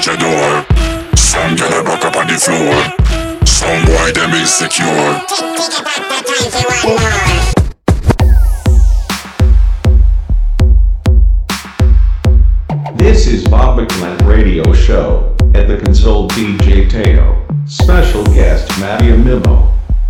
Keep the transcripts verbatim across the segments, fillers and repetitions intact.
at your door. Some get a buck up on the floor. Some boy them insecure. This is Bob McClent Radio Show. At the console D J Teo. Special guest Maria Mimo.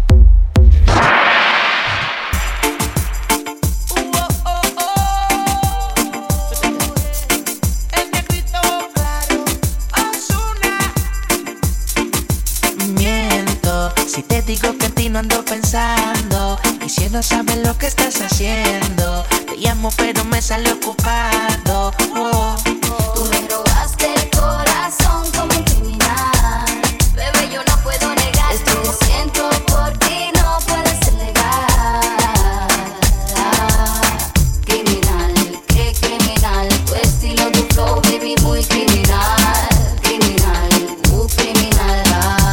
Si te digo que en ti no ando pensando, y si no sabes lo que estás haciendo, te llamo pero me sale ocupado. Oh. Tú me robaste el corazón como un criminal, bebé, yo no puedo negar esto que siento por ti, no puede ser legal. Criminal, qué criminal, tu estilo, tu flow, baby, muy criminal. Criminal, uh, criminal.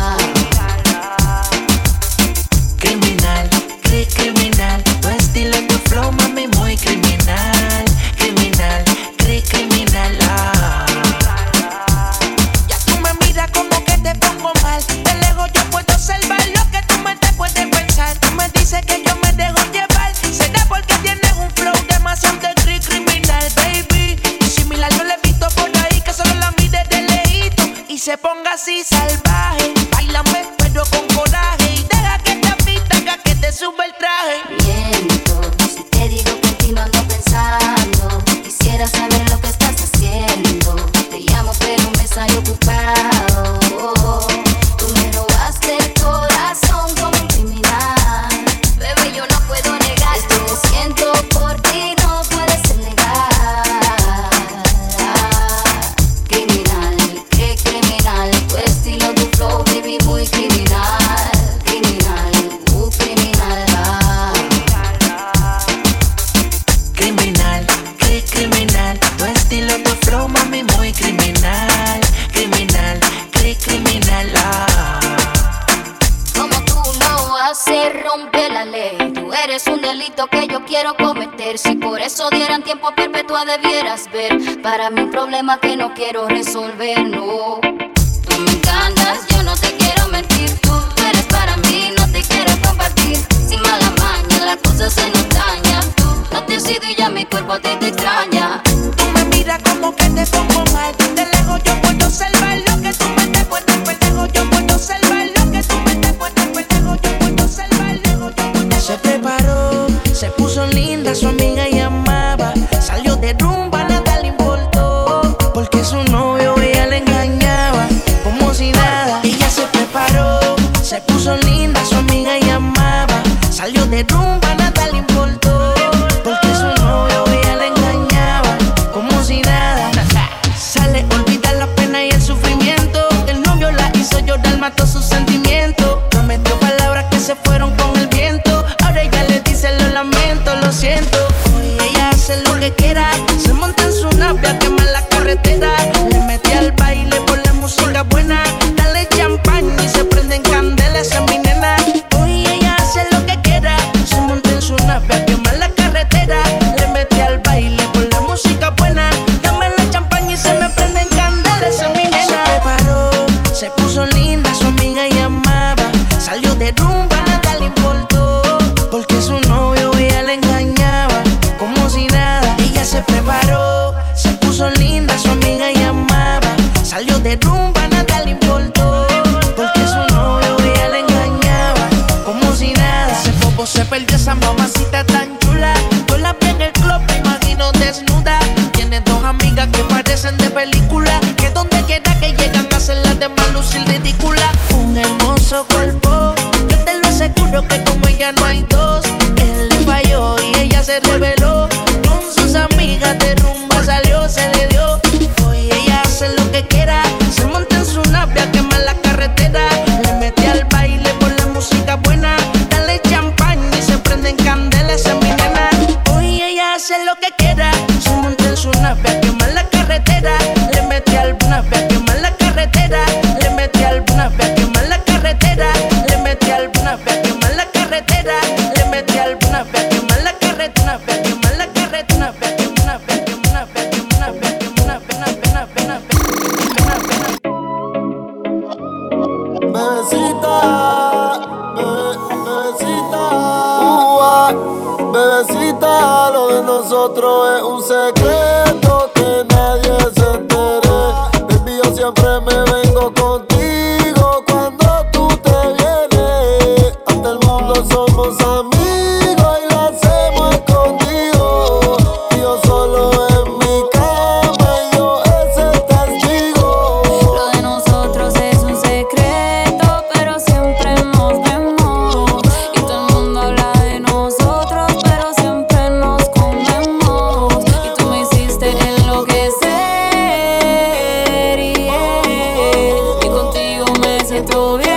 Criminal, cri criminal, tu estilo, tu flow, mami, muy criminal. Criminal, cri criminal. Ah. Ya tú me miras como que te pongo mal. De lejos yo puedo observar lo que tu mente puede pensar. Tú me dices que yo me dejo llevar. Será porque tienes un flow demasiado cri criminal, baby. Similar no le he visto por ahí, que solo la mire de lejito y se ponga así salvaje. Báilame pero con coraje y deja que te apita, que te sube el traje. Miento, si te digo que en ti no ando pensando, quisiera saber lo que estás haciendo. Te llamo pero me sale ocupado. Tú me robaste el corazón como un criminal, bebé, yo no puedo negar esto que siento por ti, no puede ser legal. Criminal, qué criminal, tu estilo, tu flow, baby, muy criminal. Criminal, uh, criminal. Criminal, cri criminal, tu estilo, tu flow, mami, muy criminal. Criminal, cri criminal. Ah. Como tú no haces, rompe la ley. Tú eres un delito que yo quiero cometer. Si por eso dieran tiempo perpetua debieras ver. Para mí un problema que no quiero resolver, no. Tú me encantas, yo no te quiero mentir. Tú eres para mí, no te quiero compartir. Sin mala maña, la cosa se nos daña. Tú no te has ido y ya mi cuerpo a ti te extraña. Tú me miras como que te pongo mal. De lejos yo puedo observar lo que tú me te puedes pendejo. Yo puedo observar lo que tú me te puedes pendejo. Yo puedo observar, lejos yo puedo. Se preparó, se puso linda, su amiga llamaba. Salió de rumba, nada le importó. Porque su novio ella le engañaba, como si nada. Ella se preparó, se puso linda, su amiga llamaba. Salió de rumba, nada le importó. Porque su novio ella le engañaba, como si nada. Sale, olvida la pena y el sufrimiento. El novio la hizo llorar, mató sus sentimientos. Prometió palabras que se fueron con el viento. Ahora ella le dice lo lamento, lo siento. Hoy ella hace lo que quiera. Se monta en su nave a quemar la carretera. Le mete al baile por la música buena. Dale champán y se prenden candelas, esa es mi nena. Hoy ella hace lo que quiera. Se monta en su nave a quemar la carretera. Le mete al baile por la música buena. Dame la champán y se me prenden candelas, esa es mi nena. Se preparó, se puso linda, su amiga llamaba. Salió de rumba, nada le importó. Porque su novio ella le engañaba, como si nada. Ella se preparó, se puso linda, su amiga llamaba. Salió de rumba, nada le importó. Porque su novio ella le engañaba, como si nada. Ese bobo se perdió, esa mamacita tan chula. Yo la vi en el club, me imagino desnuda. Tiene dos amigas que parecen de película, que donde quiera que llegan hacen las demás lucir ridícula. Un hermoso cuerpo, yo te lo aseguro que como ella no hay dos. Él le falló y ella se reveló. Con sus amigas de rumba salió, se le dio. Hoy ella hace lo que quiera. Se monta en su nave a quemar la carretera. Le mete al baile por la música buena. Dale champán y se prenden candelas, esa es mi nena. Hoy ella hace lo que quiera. Se monta en su nave a quemar la carretera. Le mete al nave a quemar la carretera. Le mete al nave a quemar la carretera. Le mete al nave a quemar la carretera. Le mete al nave a quemar la carretera. Nave a quemar la carretera. Nave a quemar, nave a quemar, nave a quemar. nosotros es un secreto que nadie se entere. Baby, yo siempre me vengo contigo cuando tú te vienes. Ante el mundo somos amigos y lo hacemos escondido. Y yo solo en mi cama y yo es el testigo. Lo de nosotros es un secreto, pero siempre nos vemos. Y todo el mundo habla de nosotros, pero siempre nos comemos. Y tú me hiciste enloquecer, yeah. Y contigo me siento bien,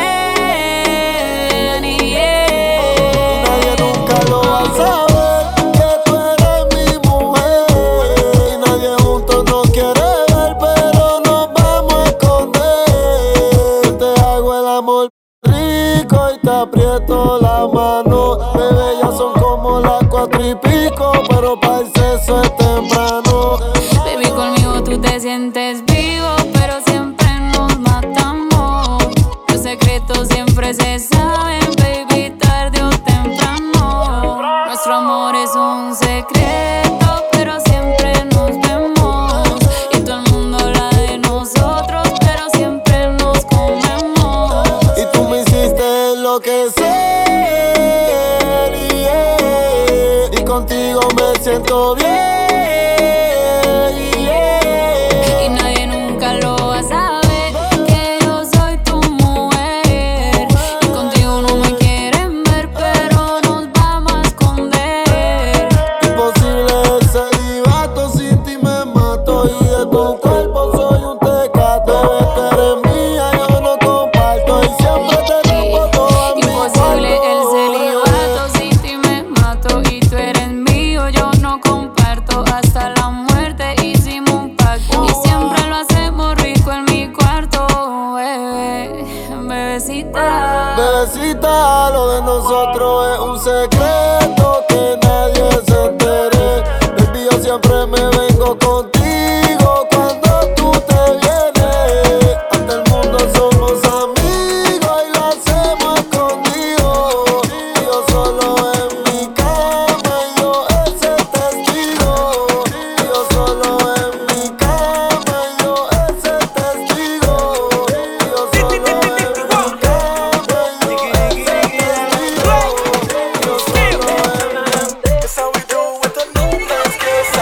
yeah. Nadie nunca lo va a saber que tú eres mi mujer. Y nadie juntos nos quiere ver, pero nos vamos a esconder. Te hago el amor rico y te aprieto la mano. Bebé, ya son como las cuatro y pico, pero para el sexo es temprano. Baby, conmigo tú te sientes vivo, pero siempre nos matamos. Los secretos siempre se saben, baby, tarde o temprano. Nuestro amor es un secreto, pero siempre nos vemos. Y todo el mundo habla de nosotros, pero siempre nos comemos. Y tú me hiciste enloquecer, yeah. Y contigo me siento bien, yeah. Y nadie nunca lo va a saber que yo soy tu mujer. Y contigo no me quieren ver, pero nos vamos a esconder. Imposible el celibato, sin ti me mato. Y de tu cuerpo soy un tecato. Bebé, tú eres mía, yo no comparto. Y siempre tenemos todo en mi Imposible el cuarto. celibato, sin ti me mato. Y tú eres mío, yo no comparto. Hasta la muerte hicimos un pacto. Y siempre lo hacemos rico en mi cuarto, bebé, bebecita. Bebecita, lo de nosotros es un secreto que nadie se entere. Baby, yo siempre me vengo contigo cuando tú te vienes. Ante el mundo somos amigos y lo hacemos escondido. Y yo solo en mi cama y yo es el testigo. Y yo solo en mi cama y yo es el testigo. Y yo solo en mi cama y yo es el testigo. Y yo solo en That's how we do with the new dance,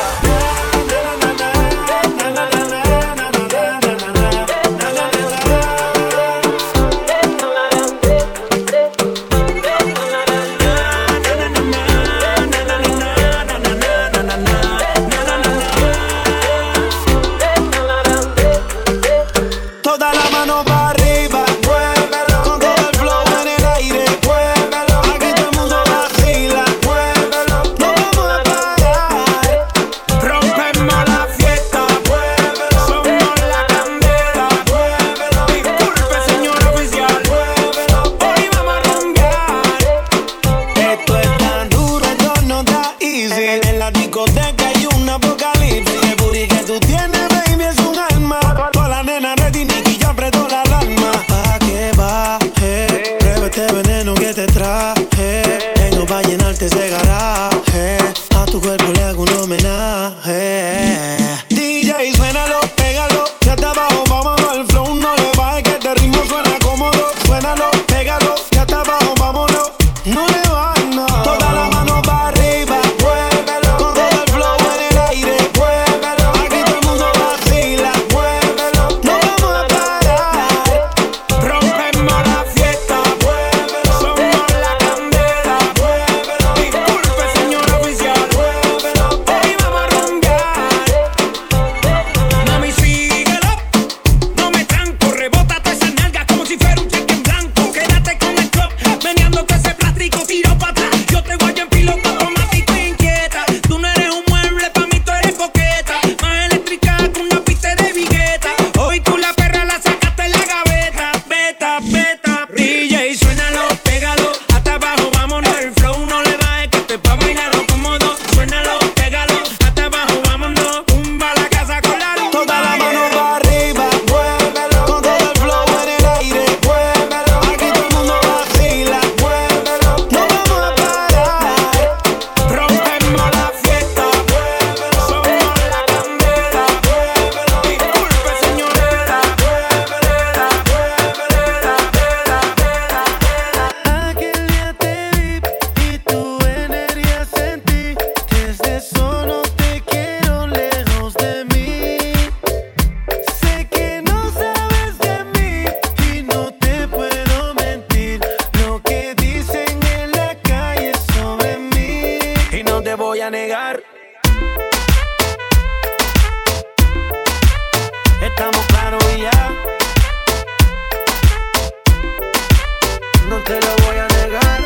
Toda la mano para arriba, muévelo. Con todo el flow en el aire, muévelo. Aquí todo el mundo vacila, muévelo. No vamos a parar, rompemos la fiesta, muévelo. Somos la candela, muévelo. Disculpe, señor oficial, muévelo. Hoy vamos a rumbear. Esto es tan duro, esto no está easy. En la discoteca hay un apocalipsis. El booty que tú tienes, baby, es un alma. Toda la nena ready, Nicky ya apretó la alarma. Pa' que baje, prueba este veneno que te traje. Tengo pa' llenarte ese garaje. A tu cuerpo le hago un homenaje. D J, suénalo, pégalo. Ya está abajo, vámonos al flow. No le bajes que este ritmo suena cómodo. Suénalo, pégalo. Ya está abajo, vámonos. No le bajes, no. Toda la mano para arriba, muévelo. Con todo el flow en el aire, muévelo. Aquí todo el mundo vacila, muévelo. No vamos a parar, rompemos la fiesta, muévelo. Somos la candela, muévelo. Disculpe, te lo voy a negar.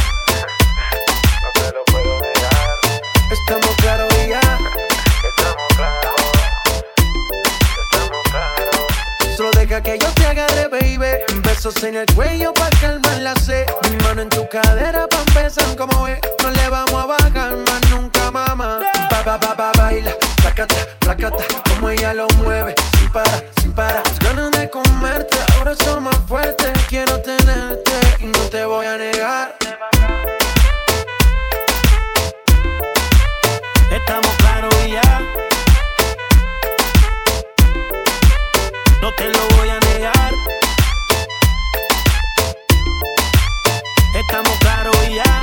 No te lo puedo negar. Estamos claros y ya. Estamos claros. Estamos claros. Solo deja que yo te agarre, baby. Besos en el cuello pa' calmar la sed. Mi mano en tu cadera pa' empezar como es. No le vamos a bajar más nunca, mamá. Ba, ba, ba, ba, baila, placata, placata. Como ella lo mueve, sin parar, sin parar. Las ganas de comerte, ahora son más fuertes. Quiero tenerte y no te voy a negar. Estamos claros y ya. No te lo voy a negar. Estamos claros y ya.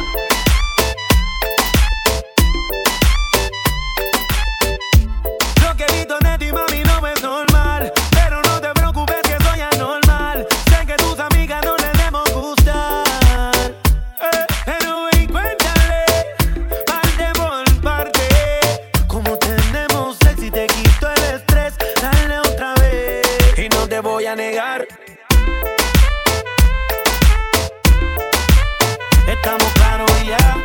Lo que he visto de ti, mami, no es normal. Pero no te preocupes que soy anormal. Sé que tus amigas no les debemos gustar. Eh, pero ven, cuéntale, parte por parte. Como tenemos sexo y te quito el estrés, dale otra vez. Y no te voy a negar. Estamos claros ya.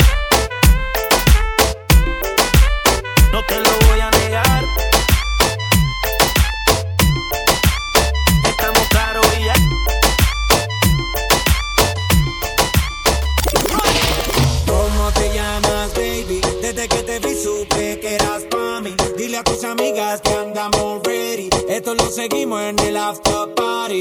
No te lo voy a negar. Estamos claros ya. ¿Cómo te llamas, baby? Desde que te vi supe que eras pa' mí. Dile a tus amigas que andamos ready. Esto lo seguimos en el after party.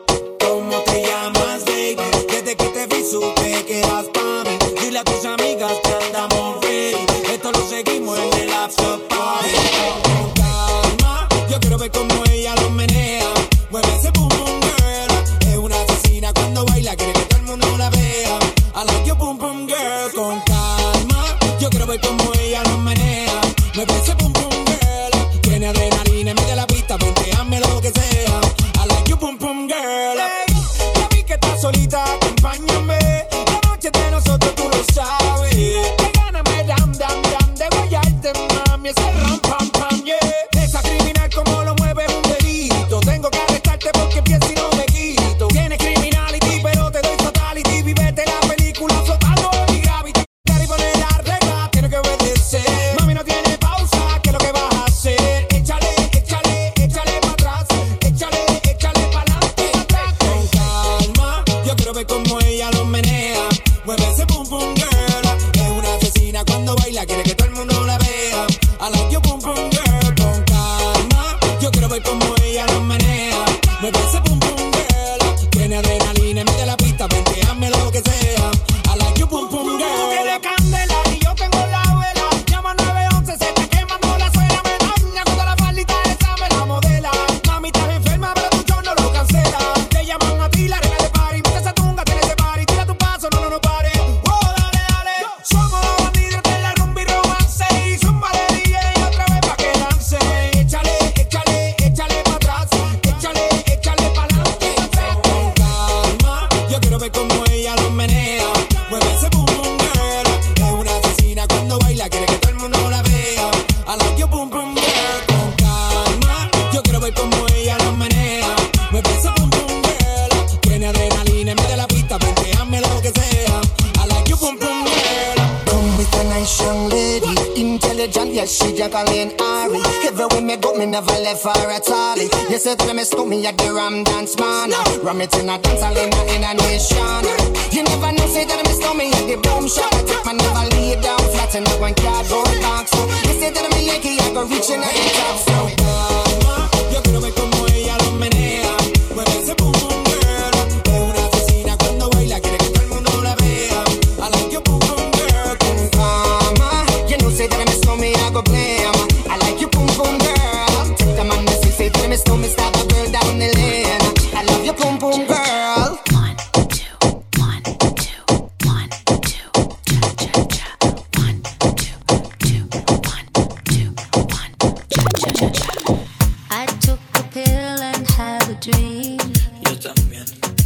¿Cómo te llamas, baby? Desde que te vi supe que eras pa' mí. Dile a tus amigas que andamos ready. Esto lo seguimos en el after party. Con calma, yo quiero ver cómo ella lo menea. Mueve ese boom boom girl. Es una asesina cuando baila, quiere que todo el mundo la vea. I like your boom boom girl. Con calma, yo quiero ver cómo ella lo menea. Mueve ese boom boom girl. Tiene adrenalina, mete la pista, venteame lo que sea. I like your boom boom girl. Hey, ya vi que estás solita, acompáñame. La noche de nosotros tú lo sabes. Que ganas me dan, dan, dan de guayarte, mami. Ese ram, pam, pam, yeah. Esa criminal como lo mueve es un delito. Tengo que arrestarte porque pienso y no me quito. Tienes criminality, pero te doy fatality. Vivete la película flotando en mi gravity. Y poner la regla, tiene que obedecer. Mami, no tiene pausa, ¿qué es lo que vas a hacer? Échale, échale, échale para atrás. Échale, échale para adelante. Con calma, yo quiero ver cómo ella lo menea. Mueve ese boom boom girl. Es una asesina cuando baila, quiere que todo el mundo la vea. I like your boom boom girl. Con calma, yo quiero ver cómo ella lo menea. Mueve ese boom boom girl. Tiene adrenalina, mete la pista, venteame lo que sea. I like your boom boom girl. Tú tienes candela y yo tengo la vela. Llama nueve once, se está quemando la suela. Me daña cuando la faldita esa me la modela. Mami, estás enferma, pero tu show no lo cancela. Te llaman a ti, la reina de party. Mete esa tunga, tiene ese party. Tira tu paso, no, no, no pare. Oh, dale, dale. Somos los bandidos de la rumba y romance. Y zúmbale D J otra vez pa' que lance. Échale, échale, échale pa' atrás. Échale, échale pa' adelante. Con calma, yo quiero ver cómo ella lo menea. Mueve ese boom boom girl. Es una asesina cuando baila, quiere que todo el mundo la vea. I like your boom boom girl. Con calma, yo quiero ver cómo ella lo menea. Mueve ese boom boom girl. Tiene adrenalina, mete la pista, venteame lo que sea. I like your boom boom girl. Come with a nice young lady, intelligent, yes, she Jacqueline Ari. Everywhere me go, me never left her at all. You said to me, stop me at the Ram Dance Man. Ram it in a dance, hall in a, in a nation. You never know, say that me stop me at the boom shop. I take my never lay down flat in a one cardboard box. So you say that me Yankee, I go reaching at the top. So Calma, yo quiero ver cómo ella lo menea. Mueve ese boom boom girl. Es una asesina cuando baila, quiere que todo el mundo la vea. I like your boom boom girl. Con calma, you know, say that me stop me, I go blame. I like you, boom boom girl. Take the man, me say, say that me stop me, stop a girl down the lane. I love you, boom boom girl. One, two, one, two, one, two, cha cha cha. One, two, two, one, two, one, cha cha cha. I took a pill and had a dream. Yo también.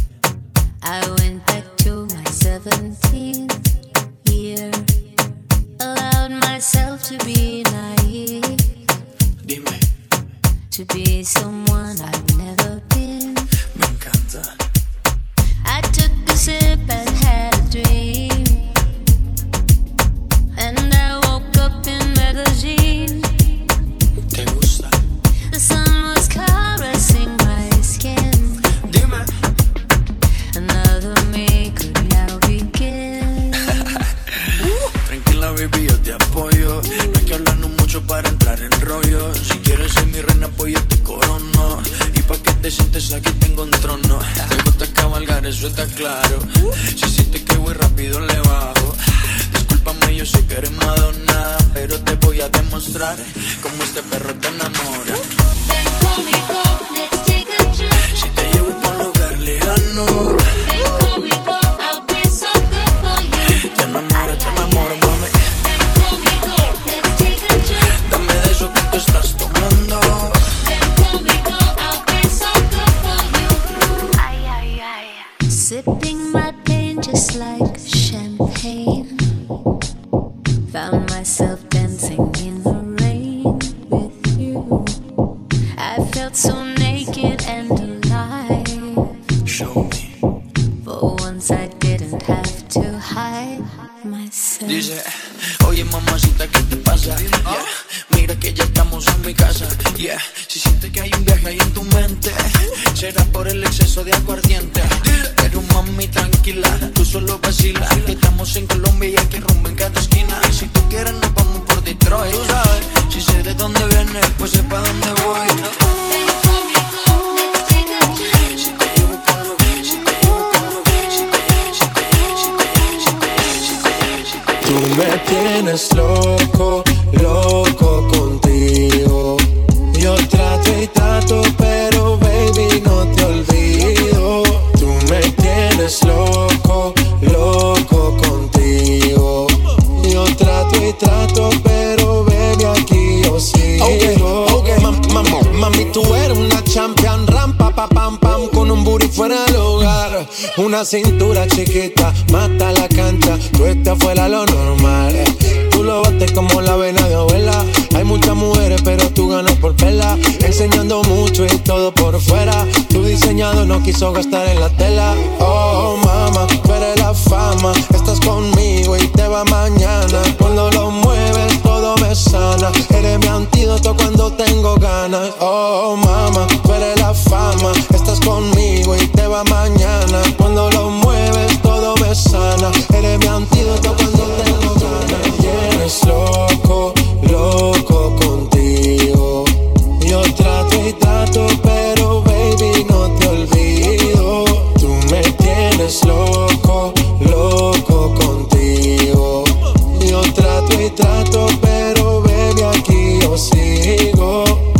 I went back to my seventeenth year. Allowed myself to be naive, Dime, to be someone I've never been. me encanta. I took a sip sientes aquí tengo un trono. Te gusta cabalgar, eso está claro. Si sientes que voy rápido le bajo. Discúlpame, yo sé que eres Madonna, pero te voy a demostrar cómo este perro te enamora. Ven conmigo, let's take a trip. Si te llevo pa' un lugar lejano, Ven conmigo, I'll be so good for you. te enamoro, te enamoro, mami. Ven conmigo, let's take a trip. Dame de eso que tú estás tomando. Ven conmigo, I'll be so good for you. Ay, ay, ay. Sipping my pain just like champagne. Found myself dancing in the rain with you. I felt so naked and alive. Show me. For once I didn't have to hide myself. Dice, oye mamacita, ¿qué te pasa? Yeah. Mira que ya estamos en mi casa. Yeah. Si sientes que hay un viaje ahí en tu mente, será por el exceso de aguardiente. Pero mami, tranquila, tú solo vacila. Que estamos en Colombia y hay que rumbo en cada esquina. Y si tú quieres nos vamos por Detroit. Tú sabes, si sé de dónde vienes, pues sé pa' dónde voy. Ven conmigo, let's take a trip. Si te llevo pa' lo que, si te llevo pa' lo que, si te, si te, si te, si te, si te, si te. Tú me tienes loco, loco contigo. Yo trato y trato, pero baby no te olvido. Tú me tienes loco, loco contigo. Yo trato y trato, pero baby aquí yo sigo. Okay, okay, mam, mam, mami, tú eres una champion, rampa, pa, pam, pam, con un booty fuera del hogar. Una cintura chiquita, mata la cancha, tú estás fuera lo normal. Tú lo bates como la vena de abuela. Hay muchas mujeres, pero tú ganas por pela. Enseñando mucho y todo por fuera. Tu diseñado no quiso gastar en la tela. Oh, mama, tú eres la fama. Estás conmigo y te va mañana. Cuando lo mueves, todo me sana. Eres mi antídoto cuando tengo ganas. Oh, mama, tú eres la fama. Estás conmigo y te va mañana. Cuando lo mueves, todo me sana. Eres mi antídoto cuando tengo ganas. Tienes loco, loco contigo. Yo trato y trato, pero baby no te olvido. Tú me tienes loco, loco contigo. Yo trato y trato, pero baby aquí yo sigo.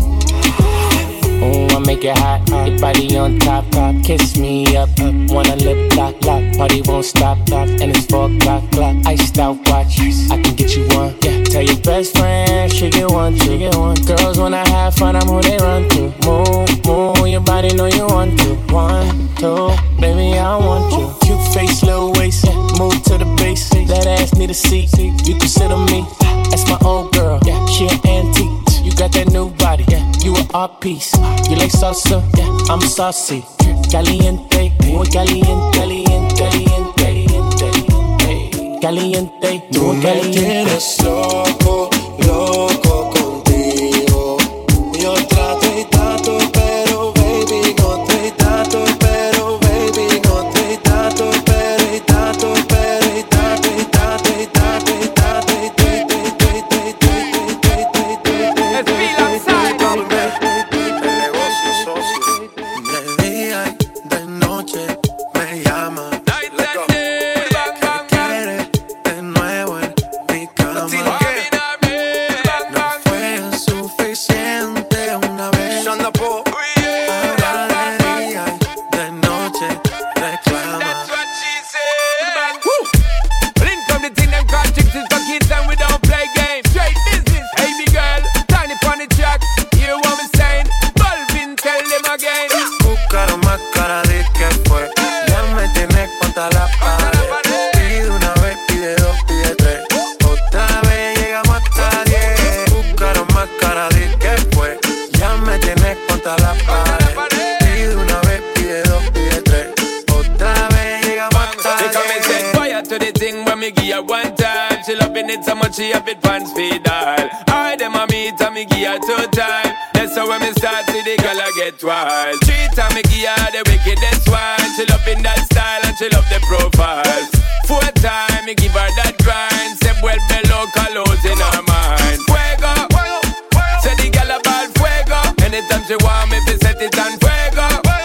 Oh, I make it hot, hot. Your body on top, top. Kiss me up, up. Wanna lip lock, lock. Party won't stop, stop. And it's four o'clock, clock. Iced out watch. I can get you one. Yeah. Tell your best friend she get one, she get one. Girls wanna have fun, I'm who they run to. Move, move. Your body know you want to. One, two, baby I want you. Cute face, little waist. Yeah. Move to the base. That ass need a seat. You can sit on me. That's my old girl. Yeah, she an antique. You got that new body, yeah, you an art piece. You like salsa, yeah, I'm saucy. Caliente, muy caliente, caliente, caliente, caliente, caliente. Tú me tienes loco, loco contigo. Yo trato y trato, pero baby no te trato, pero baby no te trato, pero y trato, pero y trato y trato y trato y trato y trato. She have it pants feed all. I dem a meet and me give her two time. That's how when me start see the girl I get wild. Three time me give her the wickedest one. She love in that style and she love the profile. Four time me give her that grind. Say well below colors in her mind. Fuego, say the girl about fuego. Anytime she want me, be set it on fuego.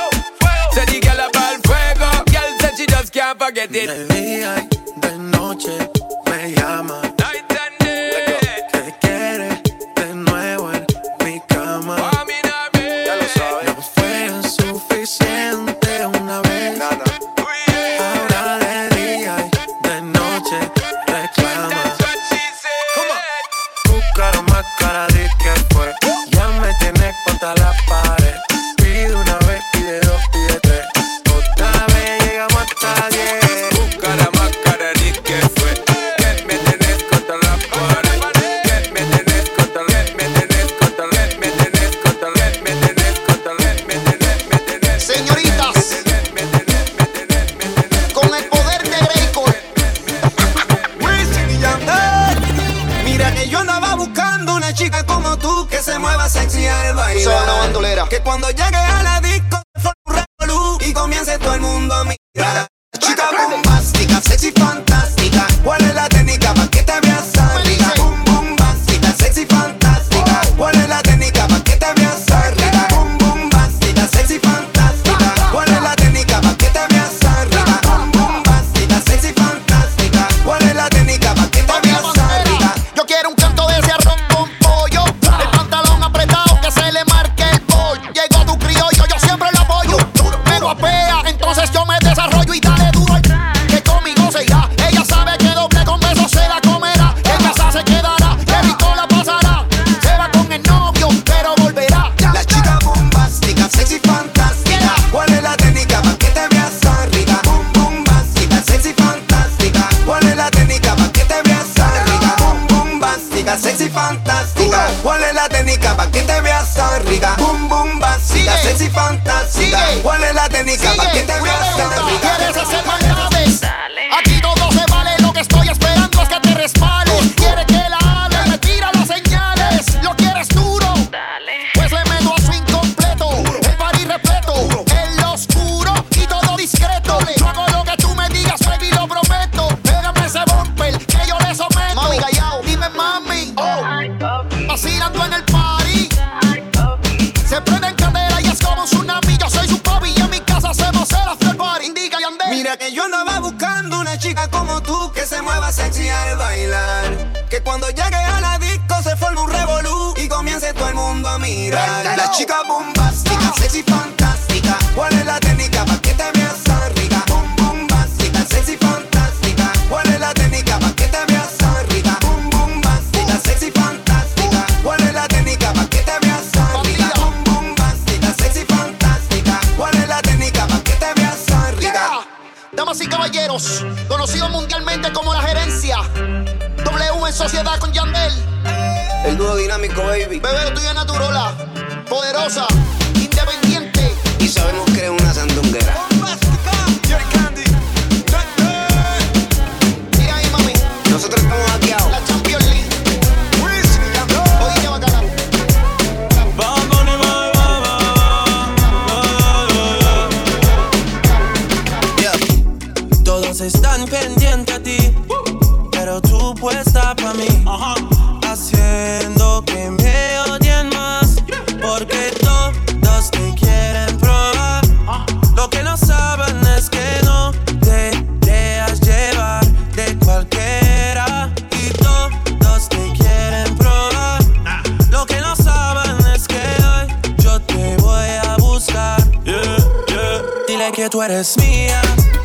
go get it. De día y de noche me llama. Night and day. ¿Qué quiere de nuevo en mi cama? Oh, mi nave. Ya lo sabes. No fue suficiente una vez. Nada. Ahora de día y de noche reclama. Tu cara más cara de que fue. Ya me tienes contra la pared. Pide una vez, pide dos, pide tres. Otra vez llegamos hasta diez. Tu cara más cara de que fue. Que me tenés contra la pared. Que me tenés contra la me tenés contra la me tenés contra la me tenés contra la me tenés me tenés. Señoritas, con el poder de Greycore. Mira que yo andaba buscando una chica como tú que se mueva sexy al bailar. Soy una bandolera. Que cuando llegue a la disco fue un revolú y comience todo el mundo a mirar. Chica bombástica, sexy fantástica. ¿Cuál es la técnica pa' que te veas rica? Boom bombástica, sexy fantástica. ¿Cuál es la técnica pa' que te veas rica? Boom bombástica, sexy fantástica. ¿Cuál es la técnica pa' que te veas rica? Boom bombástica, sexy fantástica. ¿Cuál es la técnica pa' que te veas rica? Yo quiero un canto de ese arroz con pollo. El pantalón apretado que se le marque el pollo. Llegó tu criollo, yo siempre lo apoyo. Me guapea, entonces yo me desarrollo y dale duro al que conmigo se irá. Ella sabe que doble con besos se la comerá. En casa se quedará, que rico la pasará. Se va con el novio, pero volverá. La chica bombástica, sexy fantástica. ¿Cuál es la técnica pa' que te veas rica? Boom bombástica, sexy fantástica. ¿Cuál es la técnica pa' que te veas rica? Boom bombástica, sexy fantástica. ¿Cuál es la técnica pa' que te veas rica? Boom bombástica, sexy fantástica. ¿Cuál es la técnica pa' que te veas rica? ¿Quieres hacer maldades? Aquí todo se vale, lo que estoy esperando es que te resbales. Quiere que la hable, me tira las señales. ¿Lo quieres duro? Pues le meto a su incompleto. El party repleto, en lo oscuro y todo discreto. Yo hago lo que tú me digas, baby, lo prometo. Pégame ese bumper que yo le someto. Mami, callao, dime mami. Oh, vacilando en el party. Se prende en candela y es como un tsunami. Yo soy su papi y en mi casa hacemos el after party. Indica y andé. Mira que yo andaba buscando una chica como tú que se mueva sexy al bailar. Que cuando llegue a la disco se forme un revolú y comience todo el mundo a mirar. La chica bombástica, sexy fantástica. ¿Cuál es la técnica pa' que te veas rica? Boom bombástica, sexy fantástica. ¿Cuál es la técnica pa' que te veas rica? Boom bombástica, sexy fantástica. ¿Cuál es la técnica pa' que te veas rica? Boom bombástica, sexy fantástica. ¿Cuál es la técnica pa' que te veas rica? Damas y caballeros, conocido mundialmente como La Gerencia. W en sociedad con Yandel. El dúo dinámico, baby. Bebé, lo tuyo es naturola. Poderosa, independiente. Y sabemos que eres una sandunguera. Y ahí, mami. Nosotros estamos hackeados. La Champions League. Oye, qué bacana. Todos están pendientes a ti, pero tú puesta pa' mí, haciendo que me odien más, porque todos te quieren probar. Lo que no saben es que no te dejas llevar de cualquiera, y todos te quieren probar. Lo que no saben es que hoy yo te voy a buscar. Yeah, yeah. Dile que tú eres mía.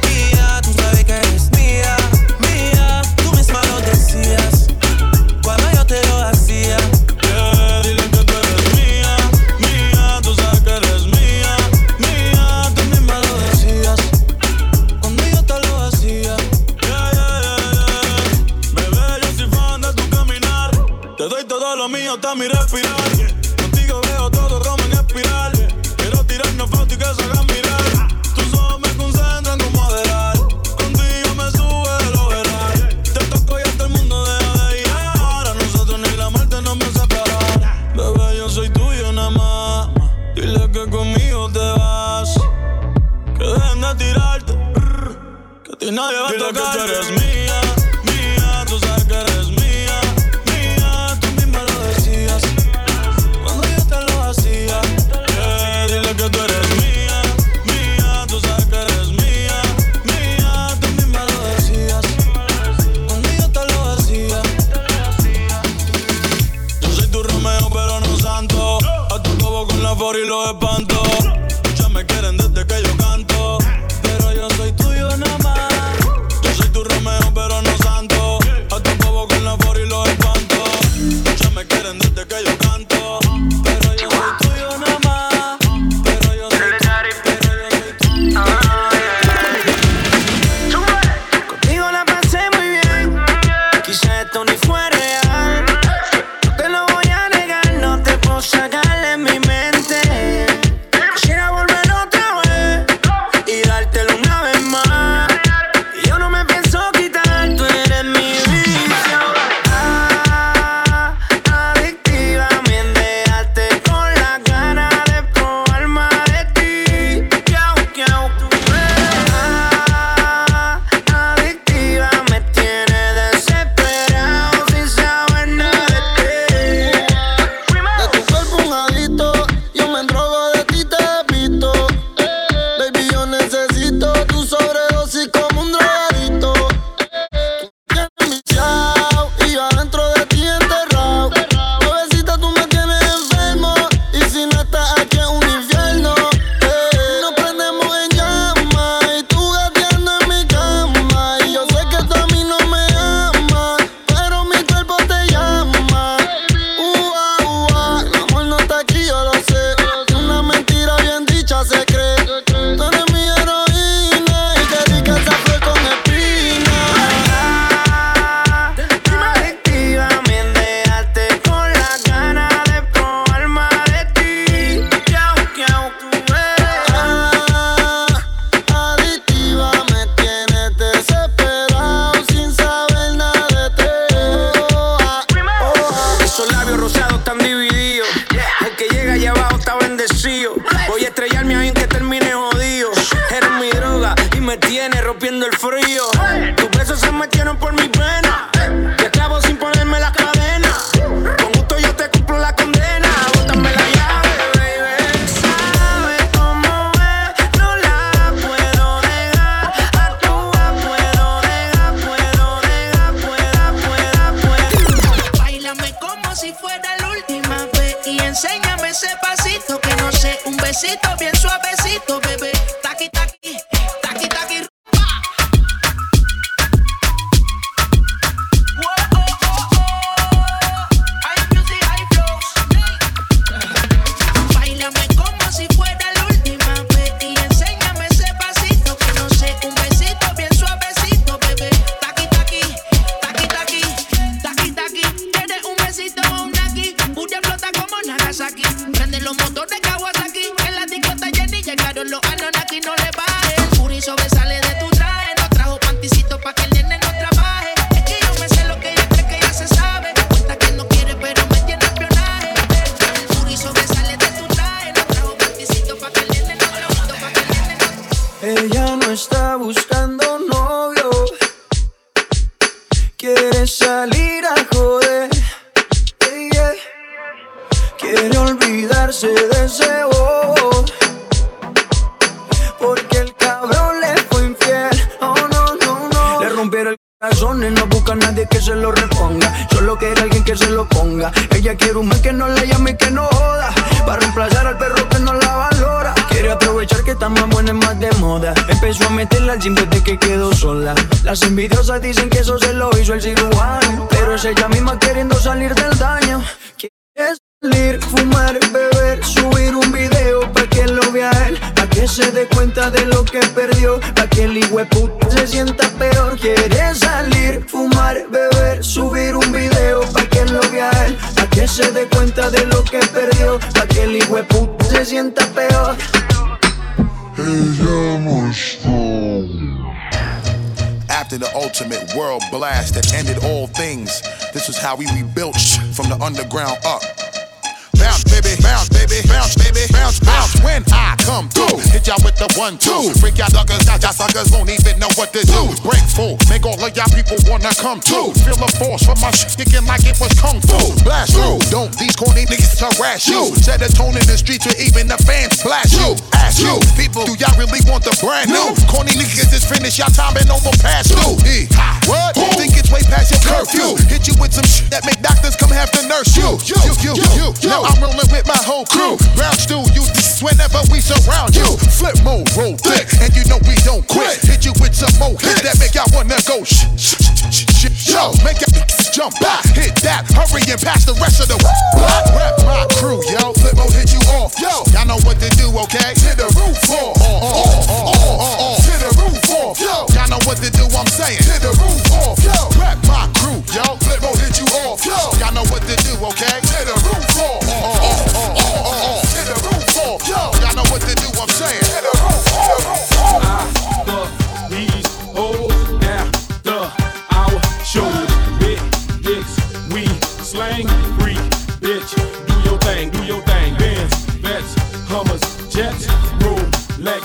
Está mi respirar. Contigo veo todo como en espiral. Quiero tirarnos fotos y que se hagan mirar. Tus ojos me concentran como moderar. Contigo me sube de lo veral. Te toco y hasta el mundo deja de ir. Ahora nosotros ni la muerte nos va a separar. Bebé, yo soy tuyo nada más. Dile que conmigo te vas. Que dejen de tirarte. Que a ti nadie va a tocar. Dile que tú eres mía, mía. Tú sabes que eres mía. Dile que tú eres mía, mía, tú sabes que eres mía, mía, tú misma viene rompiendo el frío. Tus besos se metieron por mi pena. Te clavo sin ponerme la cadena. Con gusto yo te cumplo la condena. Bótame la llave, baby. Sabes cómo es, no la puedo negar. Actúa, puedo negar, puedo negar, pueda, pueda, pueda. Báilame como si fuera la última vez y enséñame ese pasito que no sé, un besito bien suavecito, bebé. Taqui, taqui, taqui, taqui. Báilame como si fuera la última vez y enséñame ese pasito que no sé, un besito bien suavecito, bebé. Taqui, taqui, taqui, taqui, taqui, taqui. ¿Quieres un besito o un aquí? Pura flota como Nagasaki. Prende los motores Kawasaki. En la discota Jenny llegaron los Anunnaki. No le bajes. El puri sobresale de tu traje. No trajo panticito pa' que el nene no trabaje. Es que yo me sé lo que ella cree que ya se sabe. Cuenta que no quiere pero me tiene espionaje. El puri sobresale de tu traje. No trajo panticito pa' que el nene no trabaje. Pa' que el nene no. Ella no está buscando novio. Quiere salir a joder. Yeah, yeah. Quiere olvidarse de ese bobo. Porque el cabrón le fue infiel. Oh no, no, no. Le rompieron el corazón y no busca a nadie que se lo reponga. Solo quiere alguien que se lo ponga. Ella quiere un man que no le llame y que no joda. Para reemplazar al perro que no la valora. Quiere aprovechar que está más buena y más de moda. Empezó a meterla al gym desde que quedó sola. Las envidiosas dicen que eso se lo hizo el cirujano. Pero es ella misma queriendo salir del daño. Quiere salir, fumar, beber, subir un video pa' que lo vea él, pa' que se dé cuenta de lo que perdió, pa' que el hijueputa se sienta peor. Quiere salir, fumar, beber, subir un video pa' que lo vea él, pa' que se dé cuenta de lo que perdió, pa' que el hijueputa se sienta peor. Ella no está. After the ultimate world blast that ended all things, this was how we rebuilt from the underground up. Bounce, baby, bounce, baby, bounce, baby, bounce, bounce. When I come through, hit y'all with the one, two. Freak y'all suckers, got y'all suckers won't even know what to do. Break full, make all of y'all people wanna come too. Feel the force from my shit kicking like it was kung fu. Blast through, don't these corny niggas harass you. Set a tone in the streets where even the fans blast you. Ask you, people, do y'all really want the brand new? Corny niggas just finished y'all time and over past you. E, what? Think it's way past your curfew. Hit you with some shit that make doctors come have to nurse you. You, you, you, you, you. I'm rolling with my whole crew. Brown stew, you this whenever we surround you. Flip mode, roll thick, and you know we don't quit. Hit you with some more hits that make y'all wanna go sh sh sh sh sh. Yo, make y'all jump back, hit that, hurry and pass the rest of the block. Rep my crew, yo. Flip mode hit you off, yo. Y'all know what to do, okay? Hit the roof off, off, off, off, off. Hit the roof off, yo. Y'all know what to do, I'm saying. Hit the roof off, yo. Rep my crew, yo. Flip mode hit you off, yo. Y'all know what to do, okay? Hit the roof off, off, off. Oh, oh, oh, hit the roof off, yo. Y'all know what to do, I'm saying. Hit the roof off. I love these hoes after our shows. Big dicks, we slang, freak, bitch. Do your thing, do your thing. Benz, Vets, Hummers, Jets, Rolex,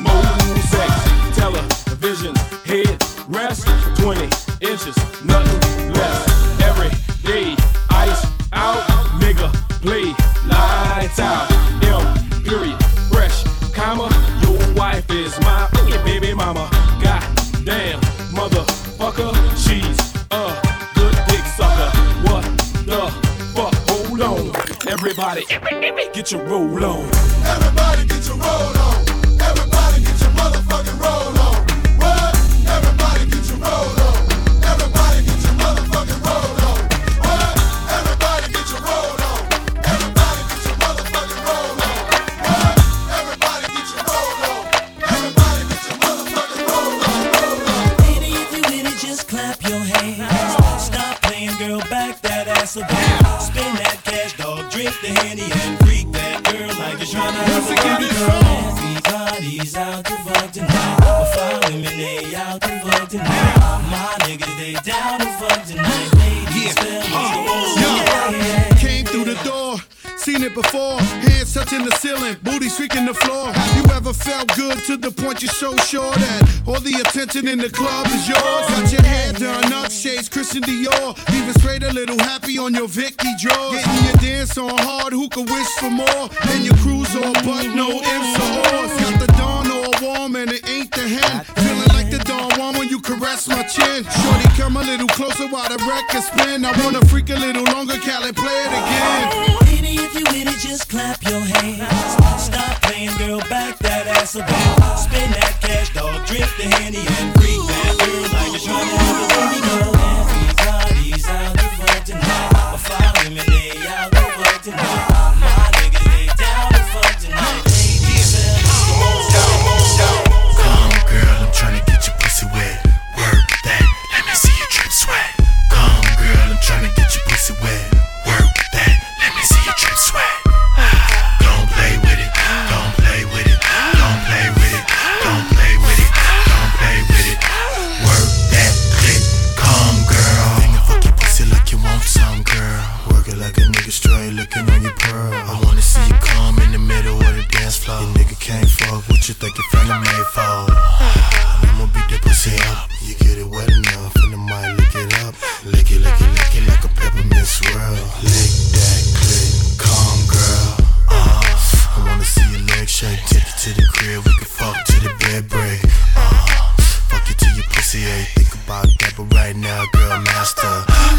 Mosex, television, head rest, twenty inches, nothing less. Every day, ice out, nigga, play lights out. M, period, fresh, comma. Your wife is my baby mama. Goddamn, motherfucker, she's a good dick sucker. What the fuck? Hold on, everybody, get your roll on. Everybody get your roll on. Everybody get your motherfucking roll on. What? Everybody get your roll on. Everybody get your motherfucking roll on. What? Everybody get your roll on. Everybody get your motherfucking roll on. What? Everybody get your roll on. Everybody get your motherfucking roll on. Roll on. Baby, if you with it, just clap your hands. Stop playing, girl, back that ass up. Spin that cash, dog, drink the Henny and freak that girl like you're trying to have a party, girl. Everybody's out to fuck tonight. My fine women, they out to fuck tonight. My niggas, they down to fuck tonight. Ladies, fellas, yeah. yeah. Came through the door, seen done it before. Hands touching the ceiling, booty streaking the floor. Have you ever felt good to the point you're so sure that all the attention in the club is yours? Got your hair done up, shades Christian Dior. Leaving straight a little happy on your Vicky drawers. Getting your dance on hard, who could wish for more? And your cruise all but no ifs or ors. Got the dawn all warm and it ain't the hen. Feeling like the dawn warm when you caress my chin. Shorty, come a little closer while the record spin. I wanna freak a little longer, Khaled, play it again. Baby, if you with it, just clap your hands. Stop playing, girl, back that ass up. Spend that cash, dog, drink the Henny and freak that girl like you're trying to have a baby girl. Everybody's out the fuck tonight. My five women, they out the fuck tonight. My niggas, they down the fuck tonight. Ladies, come on, come on, come on, girl, I'm trying to get your pussy wet. Work that, let me see your drip sweat. Come, girl, I'm trying to get your pussy wet. Work that, let me see your drip sweat. Don't play with it, don't play with it, don't play with it, don't play with it, don't play with it. Work that click, come, girl. Finger fuck your pussy like you want some, girl. Work it like a nigga straight looking on your pearl. I wanna see you come in the middle of the dance floor. Your nigga can't fuck what you think your family made for. And I'ma beat that pussy up. You get it wet enough and I might lick it up. Lick it, lick it, lick it like a peppermint swirl. Lick that click, calm girl. Uh, I wanna see your legs shake. Take you to the crib, we can fuck to the bed break. Uh, fuck you till your pussy ache. Think about that, but right now, girl, master.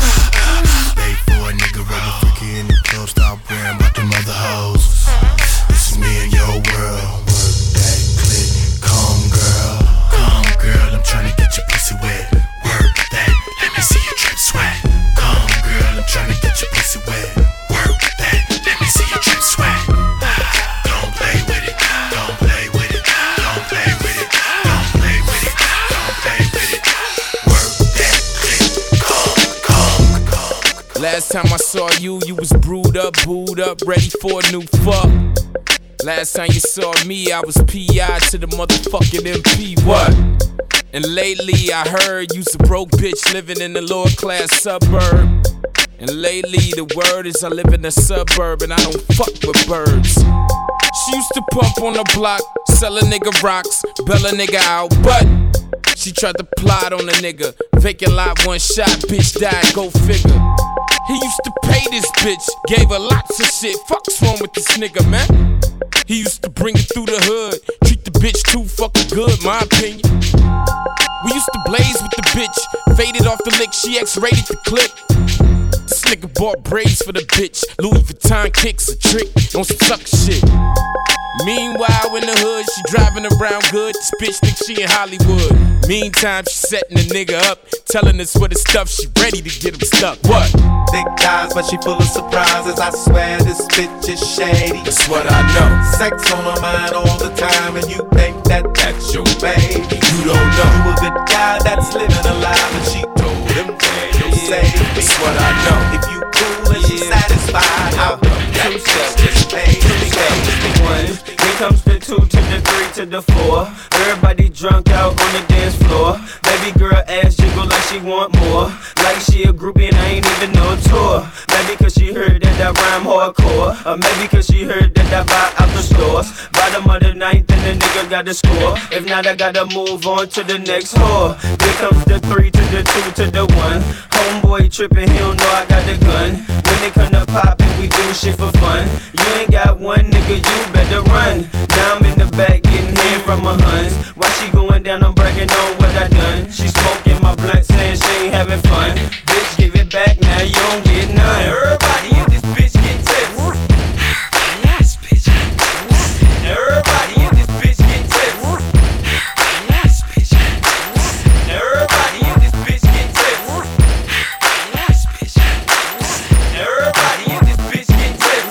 Stay for a nigga, rubber freaky in the club. Stop worrying about them other hoes. This is me and your world. Work that click, calm girl. Calm girl, I'm trying to get your pussy wet. Work that, let me see your drip sweat. Calm girl, I'm trying to get your pussy wet. Work that, let me see your drip sweat. Don't play with it, don't play with it, don't play with it, don't play with it, don't play with it. Work that click, calm, calm, calm. Last time I saw you, you was brewed up, booed up, ready for a new fuck. Last time you saw me, I was P I to the motherfucking M P, what? And lately I heard you's a broke bitch living in the lower class suburb. And lately the word is I live in a suburb and I don't fuck with birds. She used to pump on the block, sell a nigga rocks, bail a nigga out, but she tried to plot on a nigga. Vacant lot, one shot, bitch died, go figure. He used to pay this bitch, gave her lots of shit. Fuck's wrong with this nigga, man? He used to bring it through the hood, treat the bitch too fucking good, my opinion. We used to blaze with the bitch, faded off the lick, she X-rated the clip. This nigga bought braids for the bitch, Louis Vuitton kicks a trick on some sucker shit. Meanwhile in the hood, she driving around good, this bitch think she in Hollywood. Meantime, she setting the nigga up, telling us what the stuff, she ready to get him stuck. What? Thick thighs, but she full of surprises. I swear this bitch is shady. That's what I know. Sex on her mind all the time, and you think that that's your baby. You don't know. You a good guy that's living alive, and she told him, yeah, you'll save me. That's what I know. If you cool and she satisfied, how come Two that steps, just paid two steps, one. Here comes the two to the three to the four. Everybody drunk out on the dance floor. Baby girl ass jiggle like she want more. Like she a groupie and I ain't even no tour. Maybe cause she heard that I rhyme hardcore. Or maybe cause she heard that I buy out the stores. Bottom of the ninth and the nigga got the score. If not, I gotta move on to the next whore. Here comes the three to the two to the one. Homeboy trippin', he don't know I got the gun. When it come to poppin', we do shit for fun. You ain't got one nigga, you better run. Now I'm in the back getting head from my huns. While she going down, I'm bragging on what I done. She smoking my blunt, saying she ain't having fun. Bitch, give it back, now you don't get none. Everybody in this bitch get tips. This bitch get tips. Everybody in this bitch get tips. This bitch get tips. Everybody in this bitch get tips. This bitch get tips. Everybody in this bitch get tips.